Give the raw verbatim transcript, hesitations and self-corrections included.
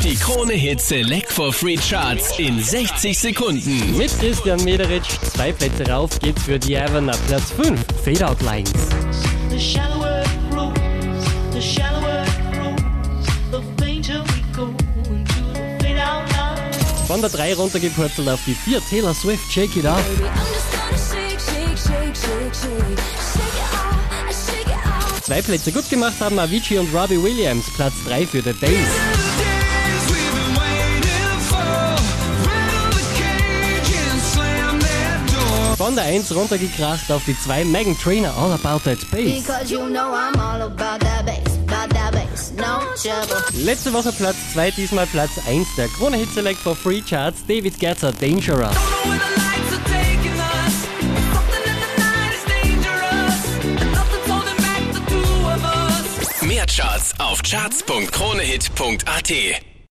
Die Krone Hit Select for Free Charts in sechzig Sekunden. Mit Christian Mederitsch, zwei Plätze rauf geht's für Diana, Platz fünf, Fade Out Lines. Von der drei runtergepurzelt auf die vier, Taylor Swift, Shake It Off. Zwei Plätze gut gemacht haben Avicii und Robbie Williams, Platz drei für The Days. Von der eins runtergekracht auf die zwei, Meghan Trainor, All About That Bass. Letzte Woche Platz zwei, diesmal Platz eins der Krone Hit Select for Free Charts, David Guetta, Dangerous. Mehr Charts auf charts punkt kronehit punkt at.